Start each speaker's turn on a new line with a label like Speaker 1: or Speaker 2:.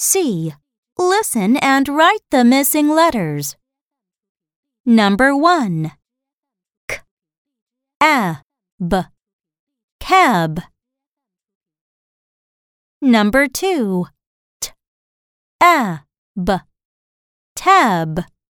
Speaker 1: C. Listen and write the missing letters. Number 1. K, A, B, cab. Number 2. T, A, B, tab.